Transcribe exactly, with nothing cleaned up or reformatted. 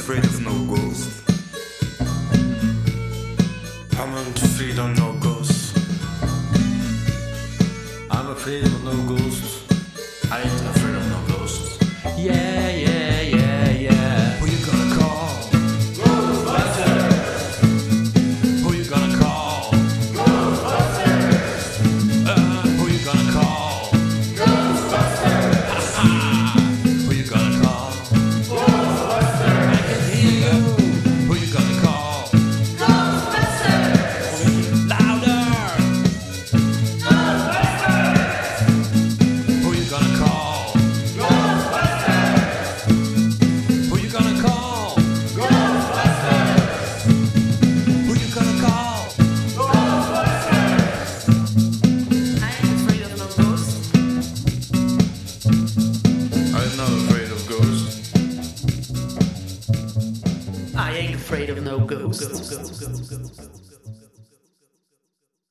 afraid of no ghost. I'm afraid of no ghost. I'm afraid of no ghost. I ain't afraid of no ghost. Yeah, yeah, yeah, yeah. Who you gonna call? Ghostbusters! Who you gonna call? Ghostbusters! Uh, who you gonna call? Ghostbusters! Who you gonna call? Ghostbusters! I can hear you. Who you gonna call? Ghostbusters! Louder. Ghostbusters! Who you gonna call? Ghostbusters! Who you gonna call? Ghostbusters! Who you gonna call? Ghostbusters! I ain't afraid of no ghosts. I'm not afraid of ghosts. I ain't afraid of no ghosts.